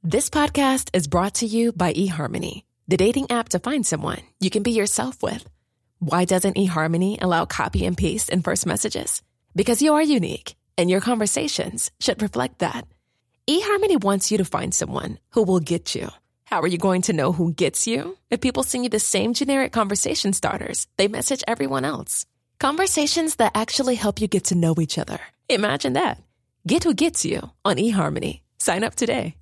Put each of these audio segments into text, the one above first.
This podcast is brought to you by eHarmony, the dating app to find someone you can be yourself with. Why doesn't eHarmony allow copy and paste in first messages? Because you are unique, and your conversations should reflect that. eHarmony wants you to find someone who will get you. How are you going to know who gets you? If people send you the same generic conversation starters they message everyone else. Conversations that actually help you get to know each other. Imagine that. Get who gets you on eHarmony. Sign up today.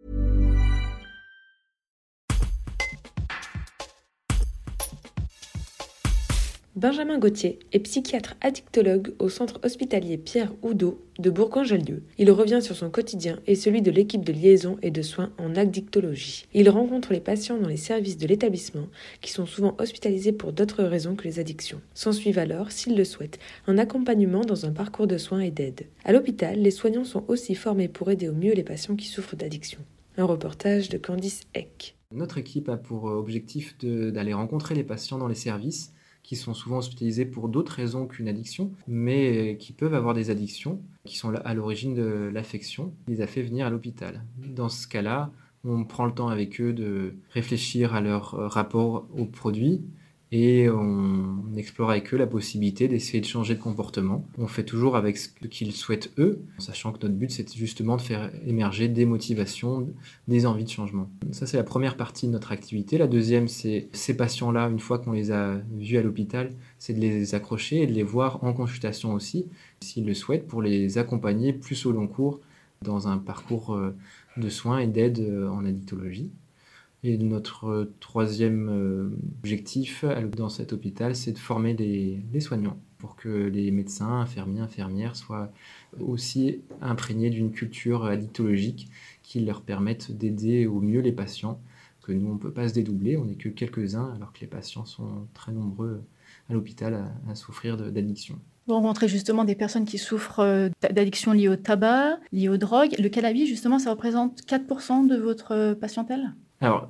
Benjamin Gauthier est psychiatre addictologue au centre hospitalier Pierre Oudot de Bourgoin-Jallieu. Il revient sur son quotidien et celui de l'équipe de liaison et de soins en addictologie. Il rencontre les patients dans les services de l'établissement qui sont souvent hospitalisés pour d'autres raisons que les addictions. S'ensuivent alors, s'ils le souhaitent, un accompagnement dans un parcours de soins et d'aide. À l'hôpital, les soignants sont aussi formés pour aider au mieux les patients qui souffrent d'addiction. Un reportage de Candice Eck. Notre équipe a pour objectif d'aller rencontrer les patients dans les services qui sont souvent hospitalisés pour d'autres raisons qu'une addiction, mais qui peuvent avoir des addictions, qui sont à l'origine de l'affection, qui les a fait venir à l'hôpital. Dans ce cas-là, on prend le temps avec eux de réfléchir à leur rapport aux produits et on explore avec eux la possibilité d'essayer de changer de comportement. On fait toujours avec ce qu'ils souhaitent eux, sachant que notre but c'est justement de faire émerger des motivations, des envies de changement. Ça c'est la première partie de notre activité. La deuxième c'est ces patients-là, une fois qu'on les a vus à l'hôpital, c'est de les accrocher et de les voir en consultation aussi, s'ils le souhaitent, pour les accompagner plus au long cours dans un parcours de soins et d'aide en addictologie. Et notre troisième objectif dans cet hôpital, c'est de former les soignants pour que les médecins, infirmiers, infirmières soient aussi imprégnés d'une culture addictologique qui leur permette d'aider au mieux les patients, que nous, on ne peut pas se dédoubler, on n'est que quelques-uns, alors que les patients sont très nombreux à l'hôpital à souffrir d'addiction. Vous rencontrez justement des personnes qui souffrent d'addiction liée au tabac, liée aux drogues. Le cannabis, justement, ça représente 4% de votre patientèle ? Alors,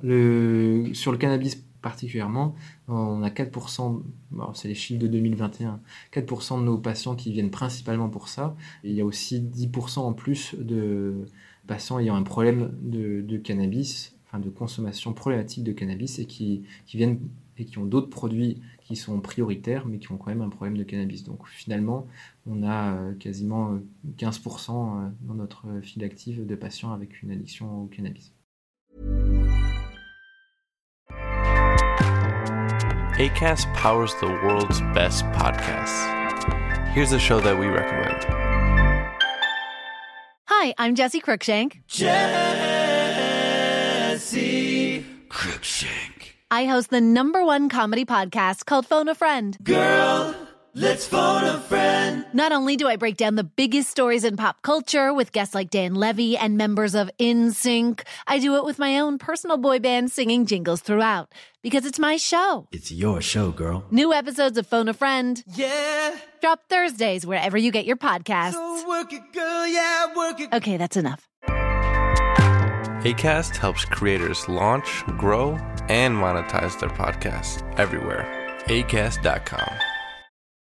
sur le cannabis particulièrement, on a 4%, c'est les chiffres de 2021, 4% de nos patients qui viennent principalement pour ça. Et il y a aussi 10% en plus de patients ayant un problème de cannabis, enfin de consommation problématique de cannabis et qui viennent et qui ont d'autres produits qui sont prioritaires mais qui ont quand même un problème de cannabis. Donc finalement, on a quasiment 15% dans notre file active de patients avec une addiction au cannabis. Acast powers the world's best podcasts. Here's a show that we recommend. Hi, I'm Jessie Cruikshank. Jessie Cruikshank. I host the #1 comedy podcast called Phone a Friend. Girl, let's phone a friend. Not only do I break down the biggest stories in pop culture with guests like Dan Levy and members of NSYNC, I do it with my own personal boy band singing jingles throughout. Because it's my show. It's your show, girl. New episodes of Phone a Friend. Yeah. Drop Thursdays wherever you get your podcasts. So work it, girl, yeah, work it. Okay, that's enough. Acast helps creators launch, grow, and monetize their podcasts everywhere. Acast.com.